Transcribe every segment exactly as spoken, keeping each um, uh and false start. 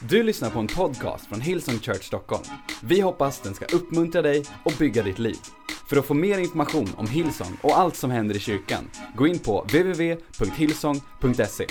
Du lyssnar på en podcast från Hillsong Church Stockholm. Vi hoppas den ska uppmuntra dig och bygga ditt liv. För att få mer information om Hillsong och allt som händer i kyrkan, gå in på w w w punkt hillsong punkt se.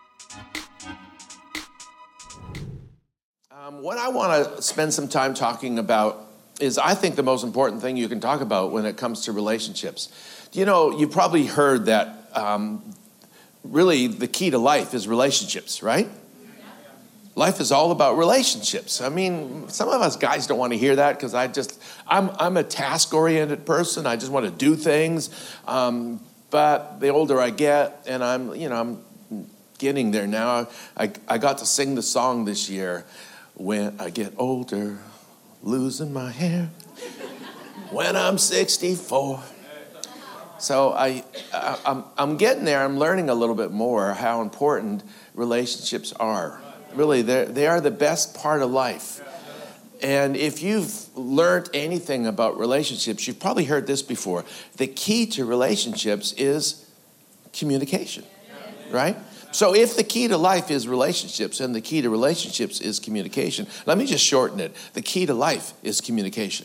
Um, what I want to spend some time talking about is, I think, the most important thing you can talk about when it comes to relationships. You know, you've probably heard that um, really the key to life is relationships, right? Life is all about relationships. I mean, some of us guys don't want to hear that because I just, I'm I'm a task-oriented person. I just want to do things. Um, but the older I get, and I'm, you know, I'm getting there now. I I got to sing the song this year, "When I get older, losing my hair, when I'm sixty-four." So I, I I'm I'm getting there. I'm learning a little bit more how important relationships are. Really, they are the best part of life. And if you've learned anything about relationships, you've probably heard this before. The key to relationships is communication, right? So if the key to life is relationships and the key to relationships is communication, let me just shorten it. The key to life is communication,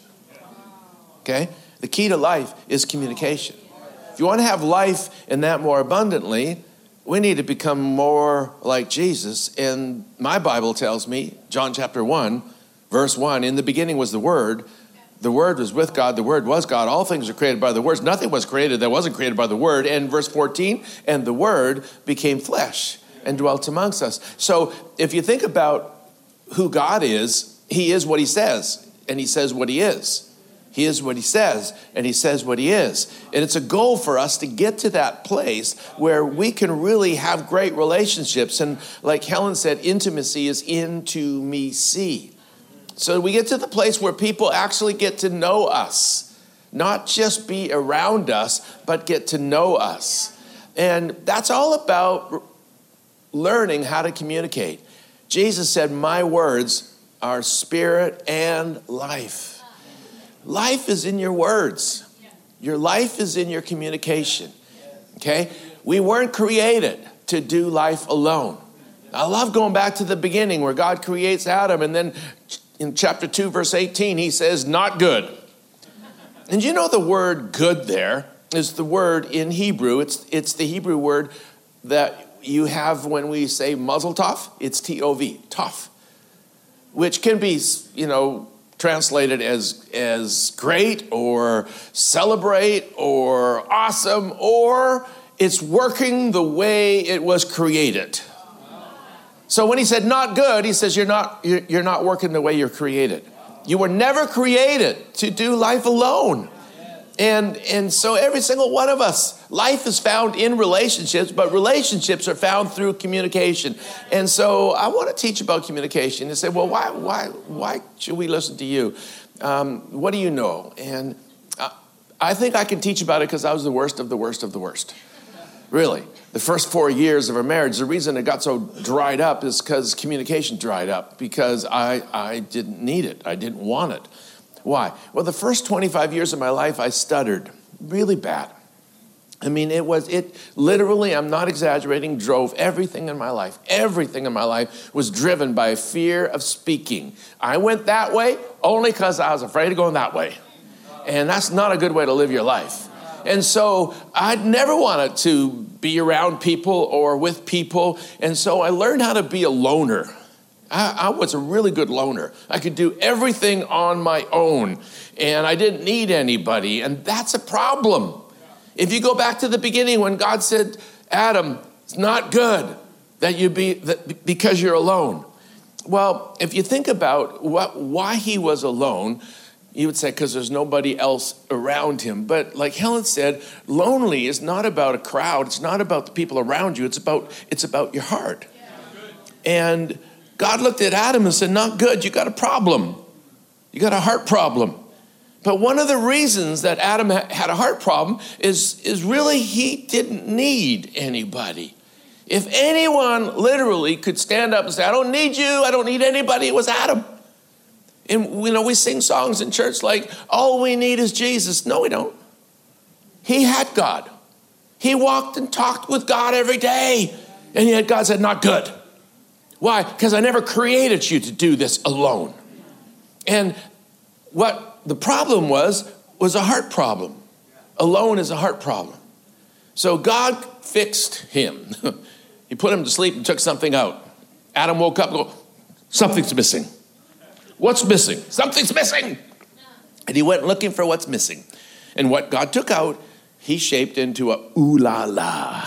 okay? The key to life is communication. If you want to have life and that more abundantly, we need to become more like Jesus. And my Bible tells me, John chapter one, verse one, in the beginning was the Word. The Word was with God. The Word was God. All things are created by the Word. Nothing was created that wasn't created by the Word. And verse fourteen, and the Word became flesh and dwelt amongst us. So if you think about who God is, He is what He says, and He says what He is. He is what He says, and He says what He is. And it's a goal for us to get to that place where we can really have great relationships. And like Helen said, intimacy is into me see. So we get to the place where people actually get to know us, not just be around us, but get to know us. And that's all about learning how to communicate. Jesus said, "My words are spirit and life." Life is in your words. Your life is in your communication, okay? We weren't created to do life alone. I love going back to the beginning where God creates Adam, and then in chapter two, verse eighteen, He says, "Not good." And you know the word "good" there is the word in Hebrew. It's, it's the Hebrew word that you have when we say mazel tov. It's T O V, tov, which can be, you know, translated as as great or celebrate or awesome, or it's working the way it was created. So when He said "not good," He says you're not you're, you're not working the way you're created. You were never created to do life alone. And and so every single one of us, life is found in relationships, but relationships are found through communication. And so I want to teach about communication. And say, well, why why why should we listen to you? Um, what do you know? And I, I think I can teach about it because I was the worst of the worst of the worst. Really, the first four years of our marriage, the reason it got so dried up is because communication dried up, because I I didn't need it. I didn't want it. Why? Well, the first twenty-five years of my life, I stuttered really bad. I mean, it was, it literally, I'm not exaggerating, drove everything in my life. Everything in my life was driven by a fear of speaking. I went that way only because I was afraid of going that way. And that's not a good way to live your life. And so I'd never wanted to be around people or with people. And so I learned how to be a loner. I, I was a really good loner. I could do everything on my own, and I didn't need anybody, and that's a problem. If you go back to the beginning when God said, "Adam, it's not good that you be that because you're alone." Well, if you think about what why He was alone, you would say because there's nobody else around Him. But like Helen said, lonely is not about a crowd. It's not about the people around you. It's about it's about your heart. Yeah. And God looked at Adam and said, "Not good. You got a problem. You got a heart problem." But one of the reasons that Adam had a heart problem is, is really he didn't need anybody. If anyone literally could stand up and say, "I don't need you, I don't need anybody," it was Adam. And you know, we sing songs in church like, "All we need is Jesus." No, we don't. He had God. He walked and talked with God every day. And yet God said, "Not good." Why? Because I never created you to do this alone. And what the problem was, was a heart problem. Alone is a heart problem. So God fixed him. He put him to sleep and took something out. Adam woke up and go, something's missing. What's missing? Something's missing. And he went looking for what's missing. And what God took out, he shaped into a ooh la la.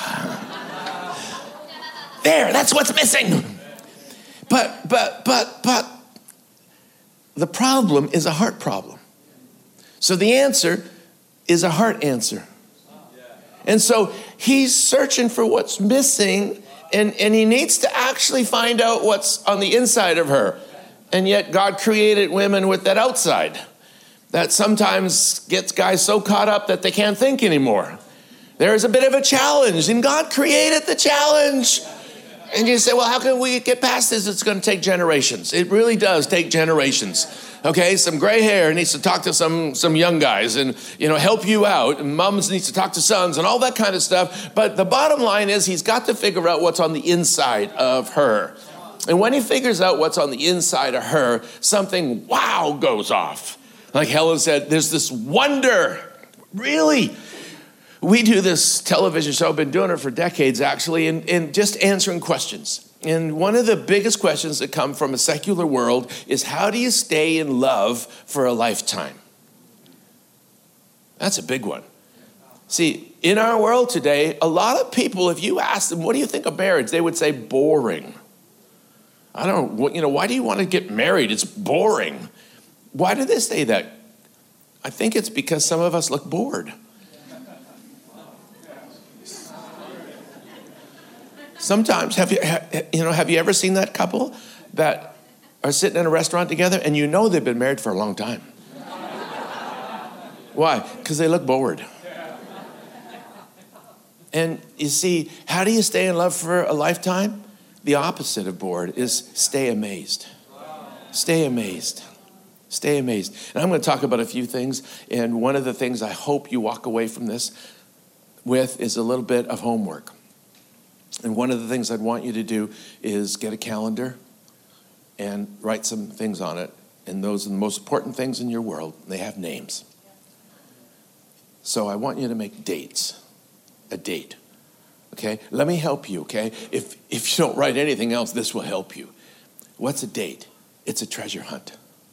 There, that's what's missing. But, but, but, but, the problem is a heart problem. So the answer is a heart answer. And so he's searching for what's missing, and, and he needs to actually find out what's on the inside of her. And yet God created women with that outside that sometimes gets guys so caught up that they can't think anymore. There is a bit of a challenge, and God created the challenge. And you say, well, how can we get past this? It's going to take generations. It really does take generations. Okay, some gray hair needs to talk to some, some young guys and, you know, help you out. And moms needs to talk to sons and all that kind of stuff. But the bottom line is he's got to figure out what's on the inside of her. And when he figures out what's on the inside of her, something wow goes off. Like Helen said, there's this wonder. Really? We do this television show, I've been doing it for decades actually, and, and just answering questions. And one of the biggest questions that come from a secular world is, how do you stay in love for a lifetime? That's a big one. See, in our world today, a lot of people, if you ask them, what do you think of marriage? They would say boring. I don't, you know, why do you want to get married? It's boring. Why do they say that? I think it's because some of us look bored. Sometimes, have you, you know, have you ever seen that couple that are sitting in a restaurant together and you know they've been married for a long time? Why? Because they look bored. And you see, how do you stay in love for a lifetime? The opposite of bored is stay amazed. Stay amazed. Stay amazed. And I'm going to talk about a few things. And one of the things I hope you walk away from this with is a little bit of homework. And one of the things I'd want you to do is get a calendar and write some things on it. And those are the most important things in your world. They have names. So I want you to make dates. A date. Okay? Let me help you, okay? If if you don't write anything else, this will help you. What's a date? It's a treasure hunt.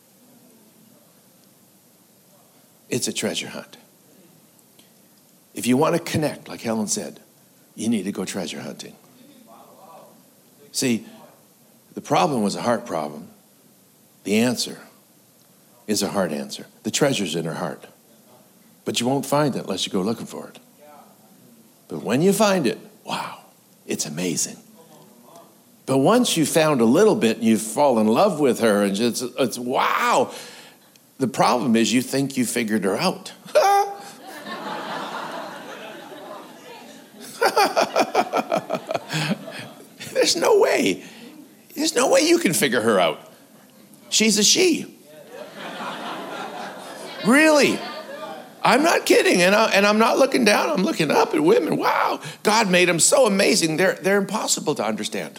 It's a treasure hunt. If you want to connect, like Helen said, you need to go treasure hunting. See, the problem was a heart problem. The answer is a heart answer. The treasure's in her heart. But you won't find it unless you go looking for it. But when you find it, wow, it's amazing. But once you found a little bit and you fall in love with her and just, it's wow. The problem is you think you figured her out. There's no way. There's no way you can figure her out. She's a she. Really. I'm not kidding, and, I, and I'm not looking down. I'm looking up at women. Wow, God made them so amazing. They're, they're impossible to understand.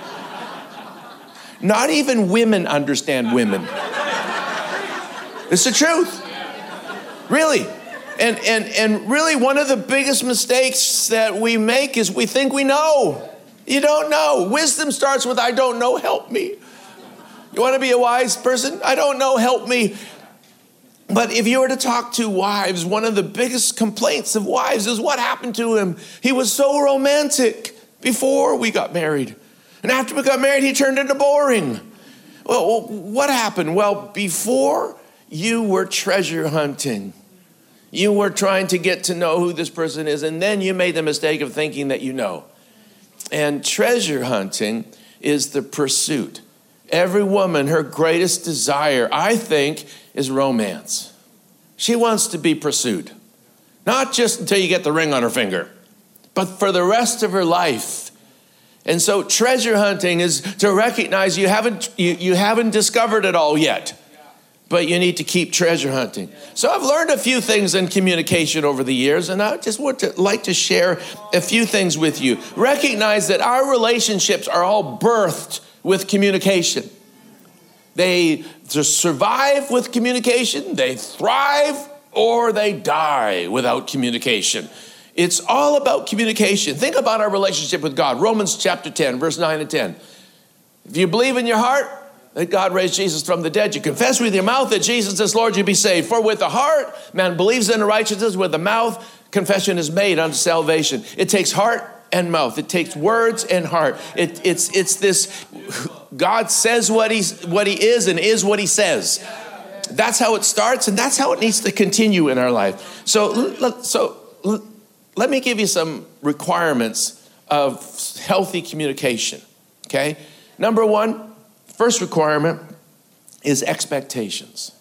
Not even women understand women. It's the truth. Really. And, and, and really one of the biggest mistakes that we make is we think we know. You don't know. Wisdom starts with, I don't know, help me. You want to be a wise person? I don't know, help me. But if you were to talk to wives, one of the biggest complaints of wives is what happened to him. He was so romantic before we got married. And after we got married, he turned into boring. Well, what happened? Well, before you were treasure hunting. You were trying to get to know who this person is, and then you made the mistake of thinking that you know. And treasure hunting is the pursuit. Every woman, her greatest desire, I think, is romance. She wants to be pursued. Not just until you get the ring on her finger, but for the rest of her life. And so treasure hunting is to recognize you haven't, you, you haven't discovered it all yet. But you need to keep treasure hunting. So I've learned a few things in communication over the years, and I just would to, like to share a few things with you. Recognize that our relationships are all birthed with communication. They just survive with communication, they thrive, or they die without communication. It's all about communication. Think about our relationship with God. Romans chapter ten, verse nine and ten. If you believe in your heart that God raised Jesus from the dead, you confess with your mouth that Jesus is Lord, you'll be saved. For with the heart, man believes in righteousness. With the mouth, confession is made unto salvation. It takes heart and mouth. It takes words and heart. It, it's, it's this, God says what, he's, what he is and is what he says. That's how it starts, and that's how it needs to continue in our life. So, so let me give you some requirements of healthy communication, okay? Number one, first requirement is expectations.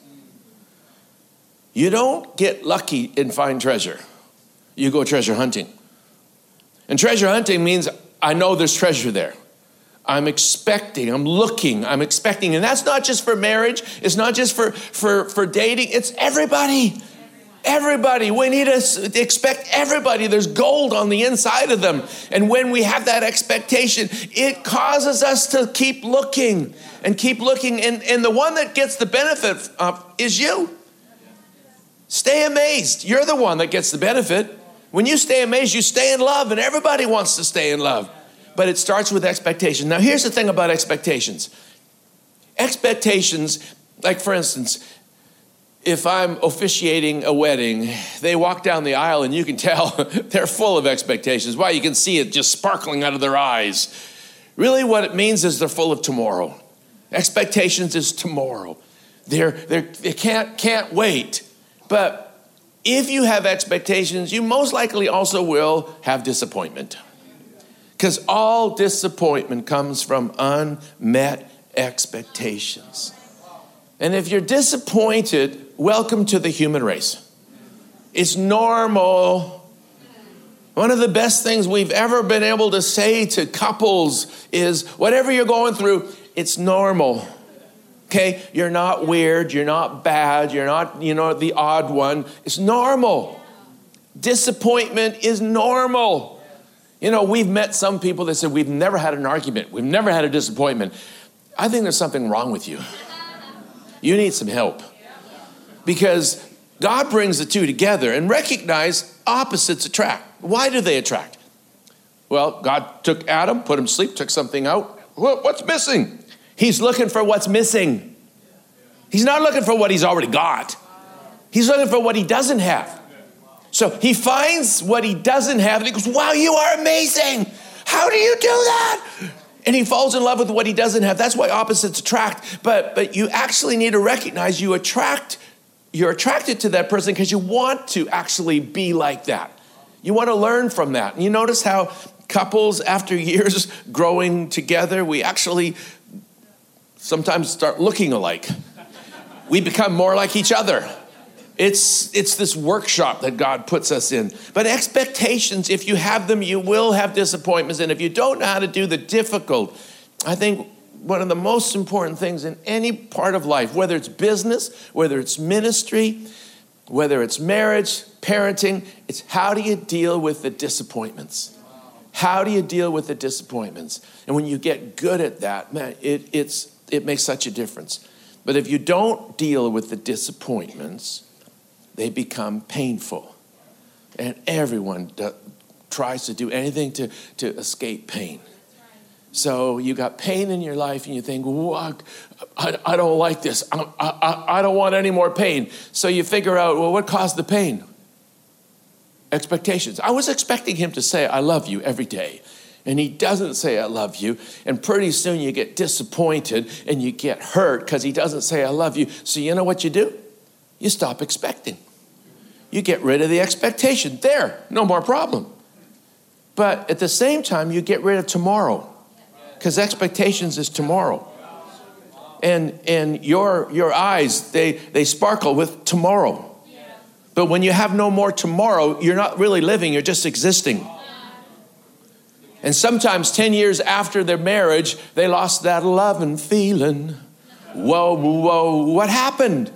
You don't get lucky and find treasure. You go treasure hunting. And treasure hunting means I know there's treasure there. I'm expecting, I'm looking, I'm expecting. And that's not just for marriage. It's not just for, for, for dating. It's everybody. Everybody. We need to expect everybody. There's gold on the inside of them. And when we have that expectation, it causes us to keep looking and keep looking. And, and the one that gets the benefit of is you. Stay amazed. You're the one that gets the benefit. When you stay amazed, you stay in love, and everybody wants to stay in love. But it starts with expectation. Now, here's the thing about expectations. Expectations, like for instance, if I'm officiating a wedding, they walk down the aisle and you can tell they're full of expectations. Why? You can see it just sparkling out of their eyes. Really what it means is they're full of tomorrow. Expectations is tomorrow. They're, they're, they can't, can't wait. But if you have expectations, you most likely also will have disappointment. Because all disappointment comes from unmet expectations. And if you're disappointed, welcome to the human race. It's normal. One of the best things we've ever been able to say to couples is, whatever you're going through, it's normal. Okay? You're not weird. You're not bad. You're not, you know, the odd one. It's normal. Disappointment is normal. You know, we've met some people that said, we've never had an argument. We've never had a disappointment. I think there's something wrong with you. You need some help. Because God brings the two together, and recognize opposites attract. Why do they attract? Well, God took Adam, put him to sleep, took something out. What's missing? He's looking for what's missing. He's not looking for what he's already got. He's looking for what he doesn't have. So he finds what he doesn't have, and he goes, wow, you are amazing. How do you do that? And he falls in love with what he doesn't have. That's why opposites attract. But but you actually need to recognize you attract, you're attracted to that person because you want to actually be like that. You want to learn from that. And you notice how couples, after years growing together, we actually sometimes start looking alike. We become more like each other. It's it's this workshop that God puts us in. But expectations, if you have them, you will have disappointments. And if you don't know how to do the difficult, I think one of the most important things in any part of life, whether it's business, whether it's ministry, whether it's marriage, parenting, it's how do you deal with the disappointments? How do you deal with the disappointments? And when you get good at that, man, it, it's, it makes such a difference. But if you don't deal with the disappointments, they become painful. And everyone do, tries to do anything to, to escape pain. So you got pain in your life and you think, well, I, I don't like this. I, I, I don't want any more pain. So you figure out, well, what caused the pain? Expectations. I was expecting him to say, I love you every day. And he doesn't say, I love you. And pretty soon you get disappointed and you get hurt because he doesn't say, I love you. So you know what you do? You stop expecting. You get rid of the expectation. There, no more problem. But at the same time, you get rid of tomorrow. Because expectations is tomorrow. And and your your eyes, they, they sparkle with tomorrow. But when you have no more tomorrow, you're not really living, you're just existing. And sometimes ten years after their marriage, they lost that love and feeling. Whoa, whoa, what happened?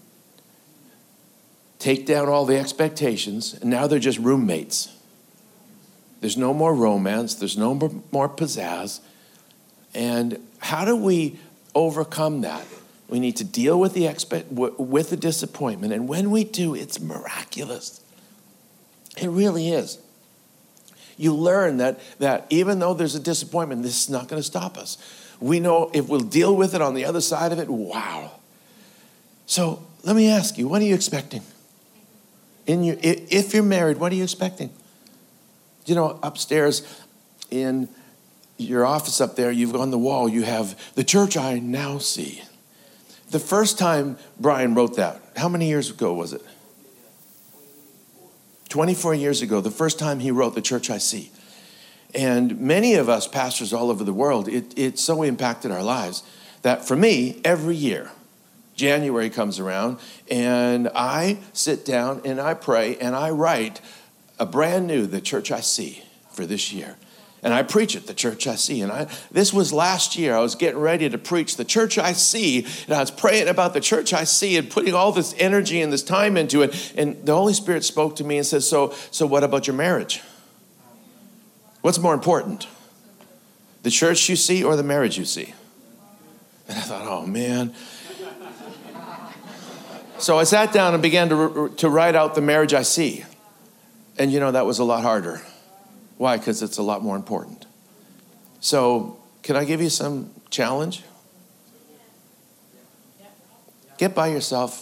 Take down all the expectations, and now they're just roommates. There's no more romance. There's no more pizzazz. And how do we overcome that? We need to deal with the expect, with the disappointment. And when we do, it's miraculous. It really is. You learn that, that even though there's a disappointment, this is not going to stop us. We know if we'll deal with it on the other side of it, wow. So let me ask you, what are you expecting? In your, if you're married, what are you expecting? You know, upstairs in your office up there, you've on the wall, you have the church I now see. The first time Brian wrote that, how many years ago was it? twenty-four years ago, the first time he wrote the church I see. And many of us pastors all over the world, it, it so impacted our lives that for me, every year, January comes around and I sit down and I pray and I write a brand new, the church I see for this year. And I preach it, the church I see. And I this was last year. I was getting ready to preach the church I see. And I was praying about the church I see and putting all this energy and this time into it. And the Holy Spirit spoke to me and said, so, so what about your marriage? What's more important? The church you see or the marriage you see? And I thought, oh, man. So I sat down and began to, to write out the marriage I see. And, you know, that was a lot harder. Why? Because it's a lot more important. So can I give you some challenge? Get by yourself.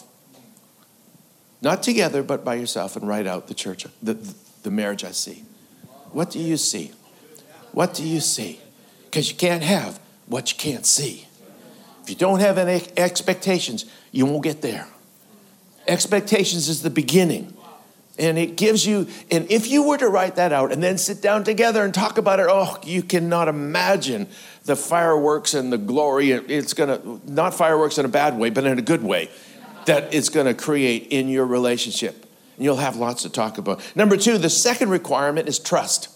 Not together, but by yourself and write out the church, the, the marriage I see. What do you see? What do you see? Because you can't have what you can't see. If you don't have any expectations, you won't get there. Expectations is the beginning. And it gives you, and if you were to write that out and then sit down together and talk about it, oh, you cannot imagine the fireworks and the glory. It's going to, not fireworks in a bad way, but in a good way, that it's going to create in your relationship. And you'll have lots to talk about. Number two, the second requirement is trust.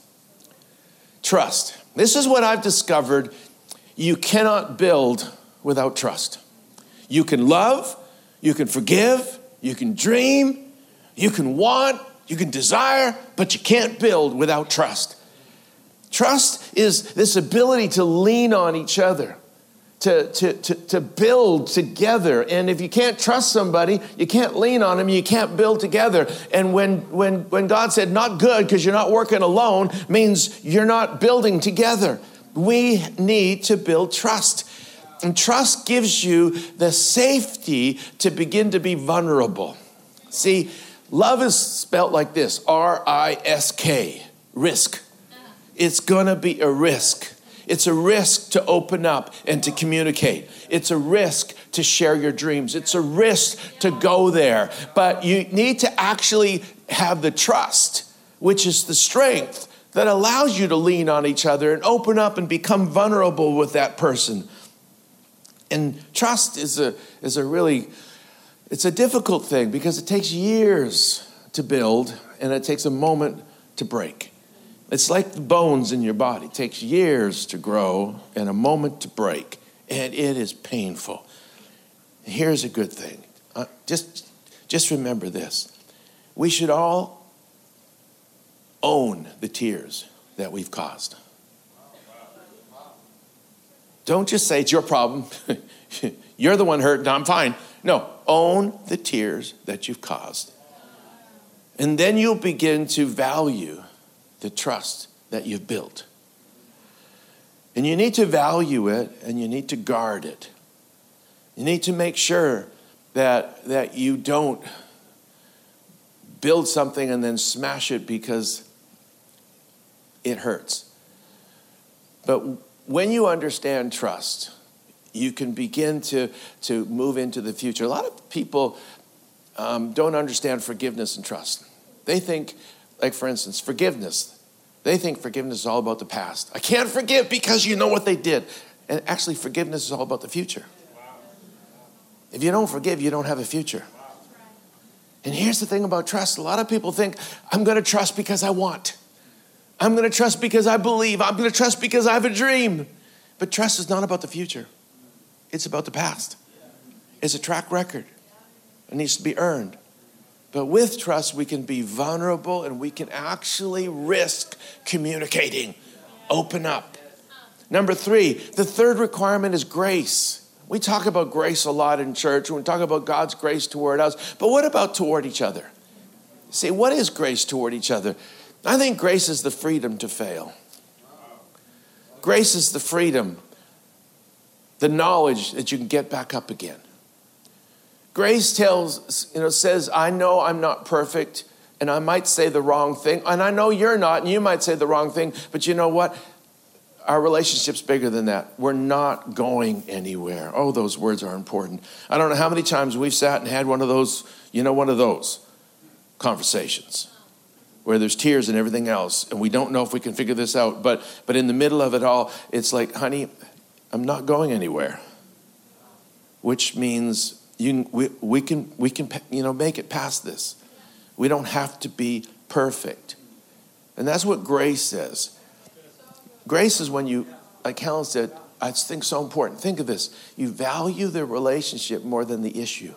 Trust. This is what I've discovered. You cannot build without trust. You can love, you can forgive, you can dream, you can want, you can desire, but you can't build without trust. Trust is this ability to lean on each other, to, to, to, to build together. And if you can't trust somebody, you can't lean on them, you can't build together. And when, when, when God said not good because you're not working alone, means you're not building together. We need to build trust. And trust gives you the safety to begin to be vulnerable. See, love is spelled like this, R I S K, risk. It's going to be a risk. It's a risk to open up and to communicate. It's a risk to share your dreams. It's a risk to go there. But you need to actually have the trust, which is the strength that allows you to lean on each other and open up and become vulnerable with that person. And trust is a is a really... It's a difficult thing because it takes years to build and it takes a moment to break. It's like the bones in your body. It takes years to grow and a moment to break. And it is painful. Here's a good thing. Uh, just, just remember this. We should all own the tears that we've caused. Don't just say it's your problem. You're the one hurt and I'm fine. No, own the tears that you've caused. And then you'll begin to value the trust that you've built. And you need to value it and you need to guard it. You need to make sure that, that you don't build something and then smash it because it hurts. But when you understand trust, you can begin to, to move into the future. A lot of people um, don't understand forgiveness and trust. They think, like for instance, forgiveness. They think forgiveness is all about the past. I can't forgive because you know what they did. And actually, forgiveness is all about the future. If you don't forgive, you don't have a future. And here's the thing about trust. A lot of people think, I'm going to trust because I want. I'm going to trust because I believe. I'm going to trust because I have a dream. But trust is not about the future. It's about the past. It's a track record. It needs to be earned. But with trust, we can be vulnerable and we can actually risk communicating. Open up. Number three, the third requirement is grace. We talk about grace a lot in church. We talk about God's grace toward us. But what about toward each other? See, what is grace toward each other? I think grace is the freedom to fail. Grace is the freedom, the knowledge that you can get back up again. Grace tells, you know, says, I know I'm not perfect, and I might say the wrong thing, and I know you're not, and you might say the wrong thing, but you know what? Our relationship's bigger than that. We're not going anywhere. Oh, those words are important. I don't know how many times we've sat and had one of those, you know, one of those conversations where there's tears and everything else, and we don't know if we can figure this out, but but in the middle of it all, it's like, honey, I'm not going anywhere, which means you we, we can we can you know make it past this. We don't have to be perfect, and that's what grace says. Grace is when you, like Helen said, I think so important. Think of this: you value the relationship more than the issue.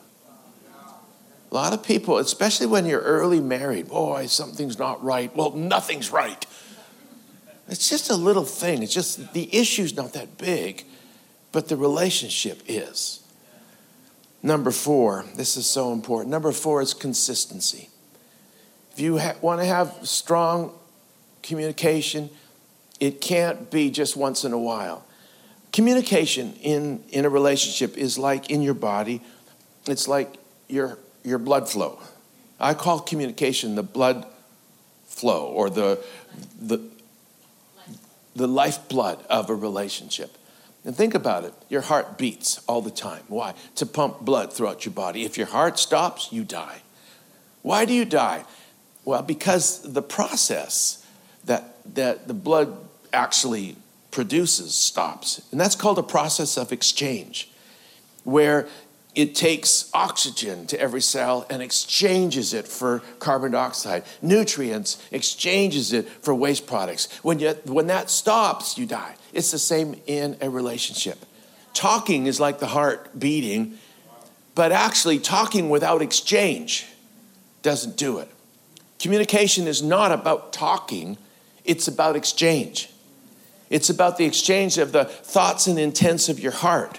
A lot of people, especially when you're early married, boy, something's not right. Well, nothing's right. It's just a little thing. It's just the issue's not that big, but the relationship is. Number four, this is so important. Number four is consistency. If you ha- want to have strong communication, it can't be just once in a while. Communication in, in a relationship is like in your body. It's like your, your blood flow. I call communication the blood flow or the, the, the lifeblood of a relationship. And think about it. Your heart beats all the time. Why? To pump blood throughout your body. If your heart stops, you die. Why do you die? Well, because the process that, that the blood actually produces stops. And that's called a process of exchange, where it takes oxygen to every cell and exchanges it for carbon dioxide. Nutrients, exchanges it for waste products. When you, when that stops, you die. It's the same in a relationship. Talking is like the heart beating, but actually talking without exchange doesn't do it. Communication is not about talking, it's about exchange. It's about the exchange of the thoughts and intents of your heart.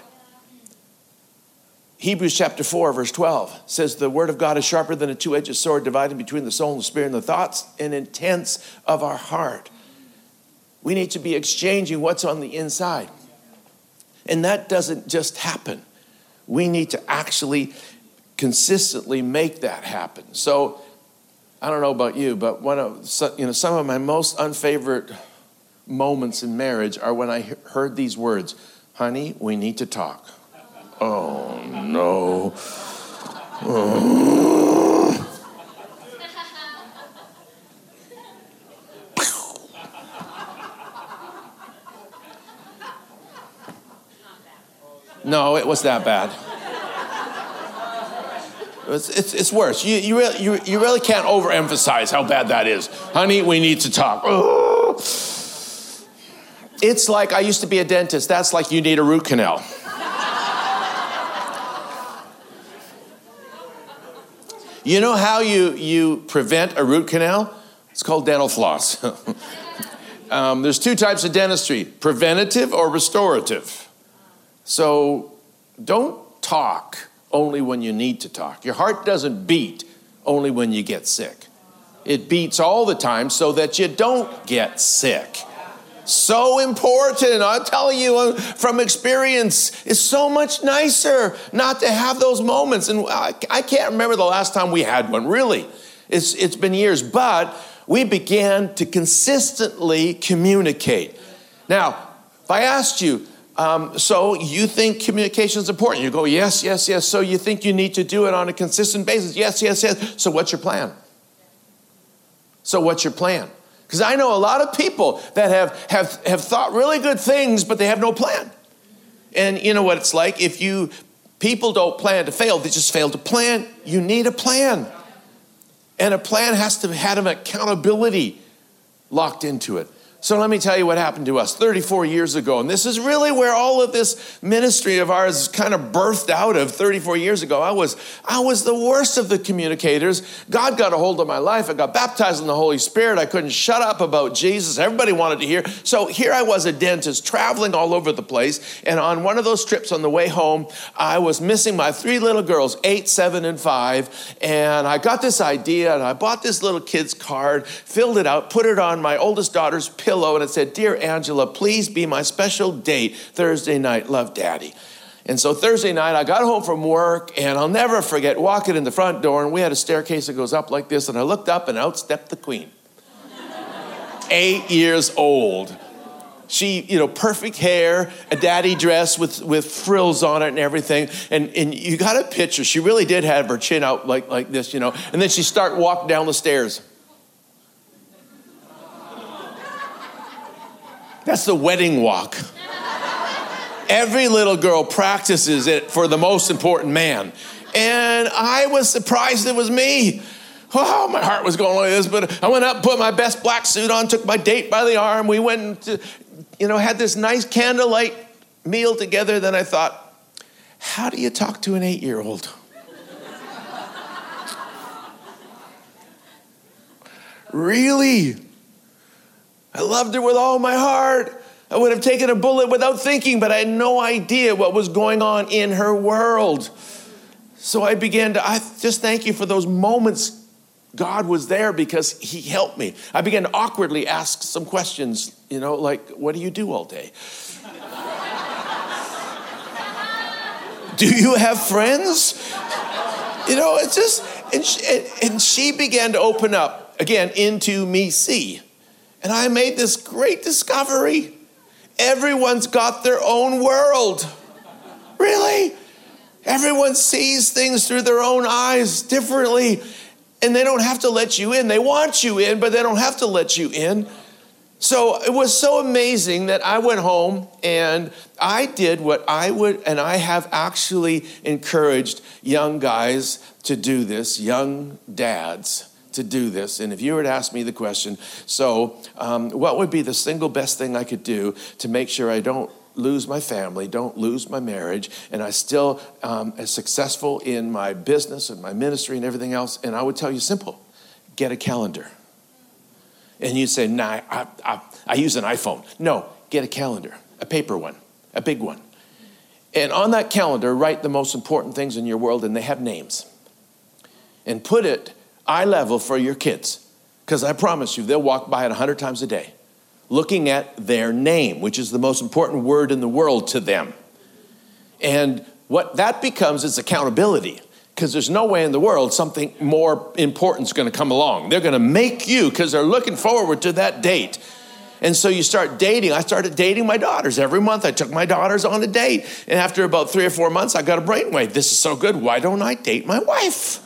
Hebrews chapter four, verse twelve says, the word of God is sharper than a two-edged sword, dividing between the soul and the spirit and the thoughts and intents of our heart. We need to be exchanging what's on the inside. And that doesn't just happen. We need to actually consistently make that happen. So, I don't know about you, but one of you know some of my most unfavorite moments in marriage are when I heard these words, honey, we need to talk. Oh, no. Oh. No, it was that bad. It's, it's, it's worse. You, you, really, you, you really can't overemphasize how bad that is. Honey, we need to talk. Oh. It's like, I used to be a dentist. That's like you need a root canal. You know how you, you prevent a root canal? It's called dental floss. um, there's two types of dentistry, preventative or restorative. So don't talk only when you need to talk. Your heart doesn't beat only when you get sick. It beats all the time so that you don't get sick. So important. I'm telling you from experience, it's so much nicer not to have those moments. And I, I can't remember the last time we had one, really. It's, it's been years, but we began to consistently communicate. Now, if I asked you, um, so you think communication is important? You go, yes, yes, yes. So you think you need to do it on a consistent basis? Yes, yes, yes. So what's your plan? So what's your plan? Because I know a lot of people that have, have, have thought really good things, but they have no plan. And you know what it's like? If you, people don't plan to fail, they just fail to plan. You need a plan. And a plan has to have an accountability locked into it. So let me tell you what happened to us thirty-four years ago. And this is really where all of this ministry of ours kind of birthed out of thirty-four years ago. I was, I was the worst of the communicators. God got a hold of my life. I got baptized in the Holy Spirit. I couldn't shut up about Jesus. Everybody wanted to hear. So here I was, a dentist, traveling all over the place. And on one of those trips on the way home, I was missing my three little girls, eight, seven, and five. And I got this idea, and I bought this little kid's card, filled it out, put it on my oldest daughter's pillow, and it said, "Dear Angela, please be my special date Thursday night. Love, Daddy." And so Thursday night, I got home from work, and I'll never forget walking in the front door, and we had a staircase that goes up like this, and I looked up, and out stepped the Queen. Eight years old. She, you know, perfect hair, a daddy dress with, with frills on it and everything. And, and you got a picture. She really did have her chin out like, like this, you know. And then she started walking down the stairs. That's the wedding walk. Every little girl practices it for the most important man. And I was surprised it was me. Oh, my heart was going like this, but I went up, put my best black suit on, took my date by the arm. We went to, you know, had this nice candlelight meal together. Then I thought, how do you talk to an eight-year-old? Really? I loved her with all my heart. I would have taken a bullet without thinking, but I had no idea what was going on in her world. So I began to, I just thank you for those moments. God was there because he helped me. I began to awkwardly ask some questions, you know, like, what do you do all day? Do you have friends? You know, it's just, and she, and she began to open up again into me see. And I made this great discovery. Everyone's got their own world. Really? Everyone sees things through their own eyes differently. And they don't have to let you in. They want you in, but they don't have to let you in. So it was so amazing that I went home and I did what I would, and I have actually encouraged young guys to do this, young dads to do this. And if you were to ask me the question, so um, what would be the single best thing I could do to make sure I don't lose my family, don't lose my marriage, and I still um, am successful in my business and my ministry and everything else? And I would tell you simple, get a calendar. And you'd say, nah, I, I, I use an iPhone. No, get a calendar, a paper one, a big one. And on that calendar, write the most important things in your world, and they have names. And put it eye level for your kids, because I promise you, they'll walk by it a hundred times a day, looking at their name, which is the most important word in the world to them. And what that becomes is accountability, because there's no way in the world something more important is going to come along. They're going to make you, because they're looking forward to that date. And so you start dating. I started dating my daughters. Every month I took my daughters on a date. And after about three or four months, I got a brainwave. This is so good. Why don't I date my wife?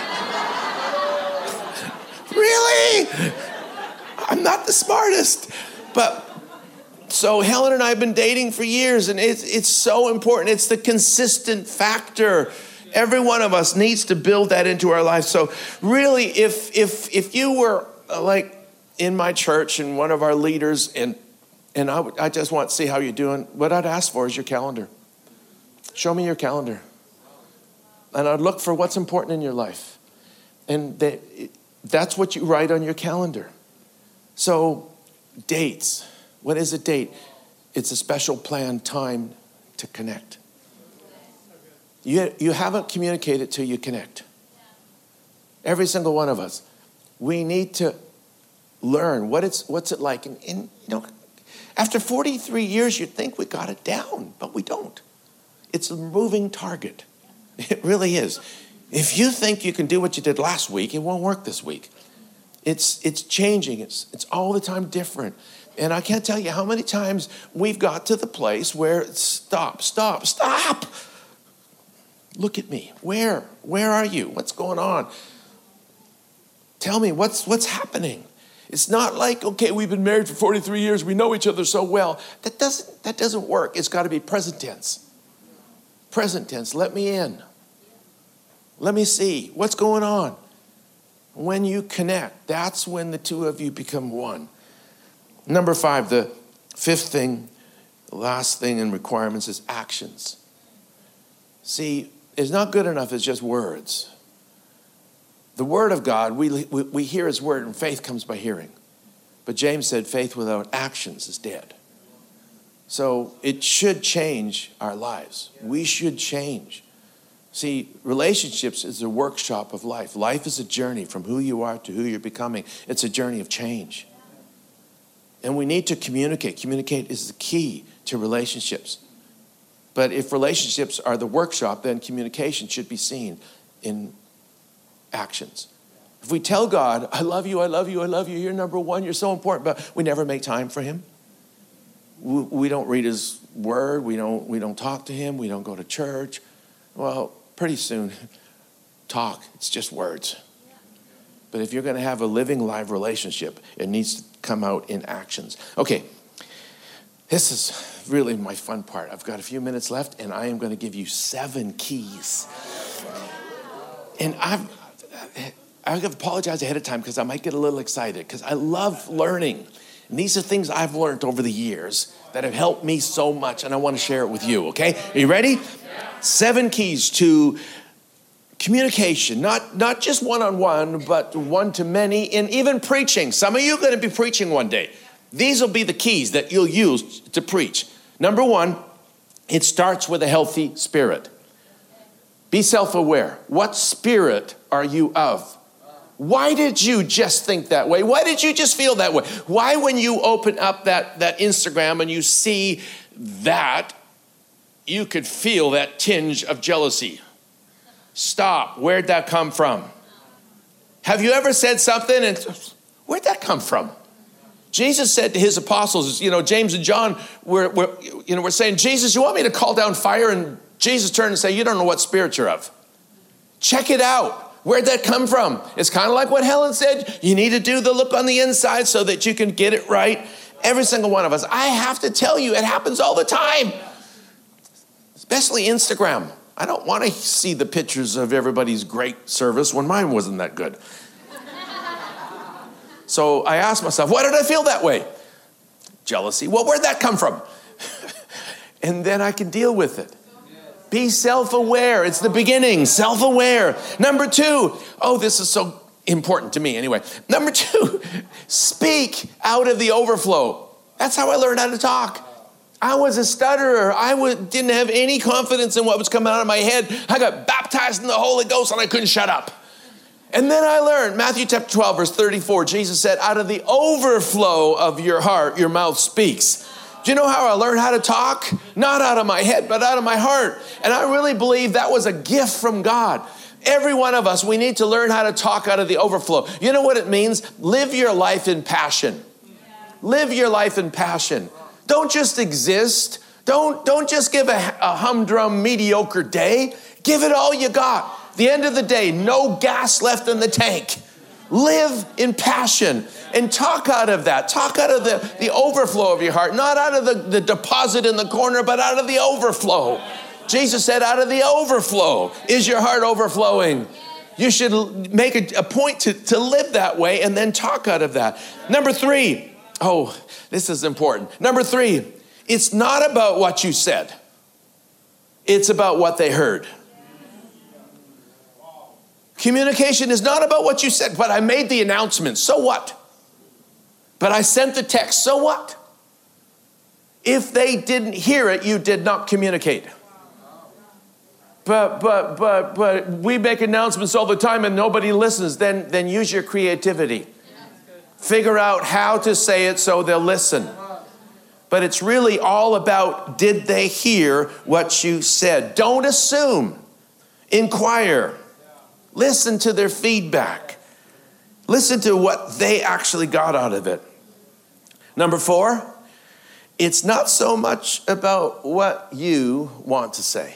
Really? I'm not the smartest. But so Helen and I have been dating for years, and it's, it's so important. It's the consistent factor. Every one of us needs to build that into our life. So really, if if if you were uh, like in my church and one of our leaders, and and I, would, I just want to see how you're doing, what I'd ask for is your calendar. Show me your calendar. And I'd look for what's important in your life. And they, that's what you write on your calendar. So dates. What is a date? It's a special planned time to connect. You, you haven't communicated till you connect. Every single one of us. We need to learn what it's what's it like. And, and you know, after forty-three years, you'd think we got it down, but we don't. It's a moving target. It really is. If you think you can do what you did last week, it won't work this week. It's it's changing. It's it's all the time different. And I can't tell you how many times we've got to the place where it's stop, stop, stop. Look at me. Where? Where are you? What's going on? Tell me what's what's happening. It's not like, okay, we've been married for forty-three years. We know each other so well. That doesn't that doesn't work. It's got to be present tense. Present tense. Let me in. Let me see what's going on. When you connect, that's when the two of you become one. Number five, the fifth thing, the last thing in requirements is actions. See, it's not good enough as just words. The word of God, we, we, we hear his word, and faith comes by hearing. But James said faith without actions is dead. So it should change our lives. We should change. See, relationships is a workshop of life. Life is a journey from who you are to who you're becoming. It's a journey of change. And we need to communicate. Communicate is the key to relationships. But if relationships are the workshop, then communication should be seen in actions. If we tell God, I love you, I love you, I love you, you're number one, you're so important, but we never make time for him. We, we don't read his word, we don't, we don't talk to him, we don't go to church. Well, pretty soon, talk, it's just words. But if you're going to have a living, live relationship, it needs to come out in actions. Okay, this is really my fun part. I've got a few minutes left, and I am going to give you seven keys. And I've, I have to apologize ahead of time because I might get a little excited because I love learning. And these are things I've learned over the years that have helped me so much, and I want to share it with you, okay? Are you ready? Yeah. Seven keys to communication, not, not just one-on-one, but one-to-many, and even preaching. Some of you are going to be preaching one day. These will be the keys that you'll use to preach. Number one, it starts with a healthy spirit. Be self-aware. What spirit are you of? Why did you just think that way? Why did you just feel that way? Why, when you open up that, that Instagram and you see that, you could feel that tinge of jealousy? Stop. Where'd that come from? Have you ever said something and where'd that come from? Jesus said to his apostles, you know, James and John were, were, you know, were saying, Jesus, you want me to call down fire? And Jesus turned and said, you don't know what spirit you're of. Check it out. Where'd that come from? It's kind of like what Helen said. You need to do the look on the inside so that you can get it right. Every single one of us. I have to tell you, it happens all the time. Especially Instagram. I don't want to see the pictures of everybody's great service when mine wasn't that good. So I asked myself, why did I feel that way? Jealousy. Well, where'd that come from? And then I can deal with it. Be self-aware. It's the beginning. Self-aware. Number two. Oh, this is so important to me anyway. Number two, speak out of the overflow. That's how I learned how to talk. I was a stutterer. I w- didn't have any confidence in what was coming out of my head. I got baptized in the Holy Ghost and I couldn't shut up. And then I learned, Matthew chapter twelve, verse thirty-four, Jesus said, out of the overflow of your heart, your mouth speaks. Do you know how I learned how to talk? Not out of my head, but out of my heart. And I really believe that was a gift from God. Every one of us, we need to learn how to talk out of the overflow. You know what it means? Live your life in passion. Live your life in passion. Don't just exist. Don't, don't just give a, a humdrum, mediocre day. Give it all you got. At the end of the day, no gas left in the tank. Live in passion and talk out of that. Talk out of the, the overflow of your heart. Not out of the, the deposit in the corner, but out of the overflow. Jesus said, out of the overflow. Is your heart overflowing? You should make a, a point to, to live that way and then talk out of that. Number three. Oh, this is important. Number three. It's not about what you said. It's about what they heard. Communication is not about what you said, but I made the announcement. So what? But I sent the text. So what? If they didn't hear it, you did not communicate. But but but but we make announcements all the time and nobody listens. Then then use your creativity. Figure out how to say it so they'll listen. But it's really all about, did they hear what you said? Don't assume. Inquire. Listen to their feedback. Listen to what they actually got out of it. Number four, it's not so much about what you want to say.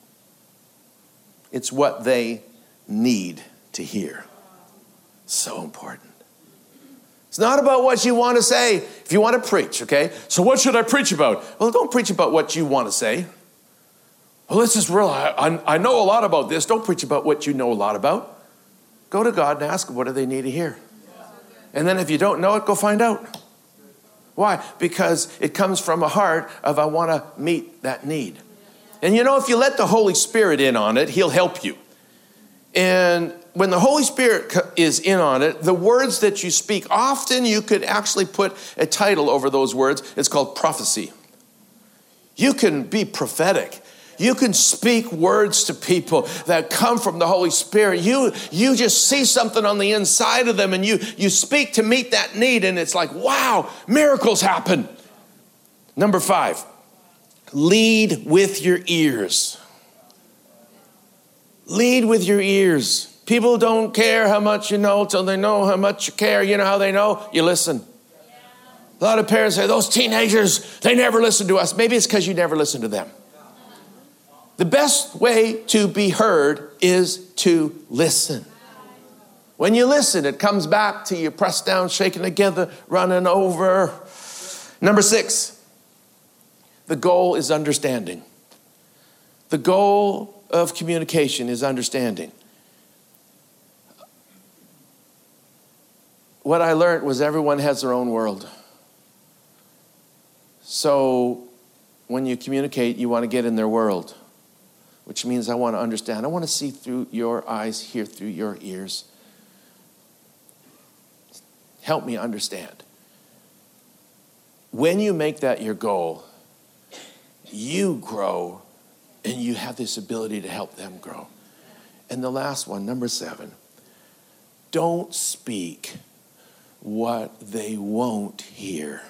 It's what they need to hear. So important. It's not about what you want to say. If you want to preach, okay? So what should I preach about? Well, don't preach about what you want to say. Well, this is real. I, I know a lot about this. Don't preach about what you know a lot about. Go to God and ask, what do they need to hear? And then if you don't know it, go find out. Why? Because it comes from a heart of I want to meet that need. And you know, if you let the Holy Spirit in on it, he'll help you. And when the Holy Spirit is in on it, the words that you speak, often you could actually put a title over those words. It's called prophecy. You can be prophetic. You can speak words to people that come from the Holy Spirit. You, you just see something on the inside of them and you, you speak to meet that need, and it's like, wow, miracles happen. Number five, lead with your ears. Lead with your ears. People don't care how much you know till they know how much you care. You know how they know? You listen. A lot of parents say, those teenagers, they never listen to us. Maybe it's because you never listen to them. The best way to be heard is to listen. When you listen, it comes back to you, pressed down, shaken together, running over. Number six, the goal is understanding. The goal of communication is understanding. What I learned was everyone has their own world. So when you communicate, you want to get in their world, which means I want to understand. I want to see through your eyes, hear through your ears. Help me understand. When you make that your goal, you grow and you have this ability to help them grow. And the last one, number seven, don't speak what they won't hear.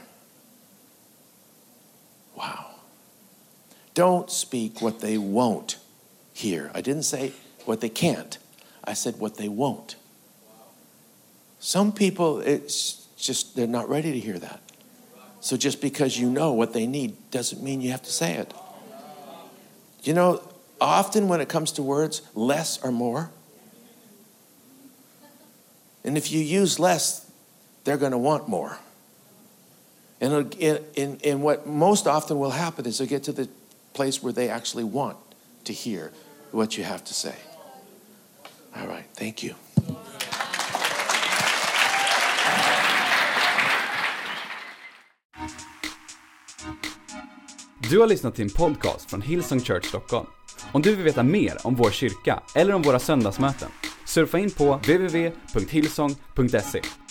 Wow. Don't speak what they won't hear. I didn't say what they can't. I said what they won't. Some people, it's just, they're not ready to hear that. So just because you know what they need doesn't mean you have to say it. You know, often when it comes to words, less or more. And if you use less, they're going to want more. And in, in, in what most often will happen is they'll get to the place where they actually want to hear what you have to say. All right, thank you. Du har lyssnat till en podcast från Hillsong Church Stockholm. Om du vill veta mer om vår kyrka eller om våra söndagsmöten, surfa in på w w w punkt hillsong punkt se.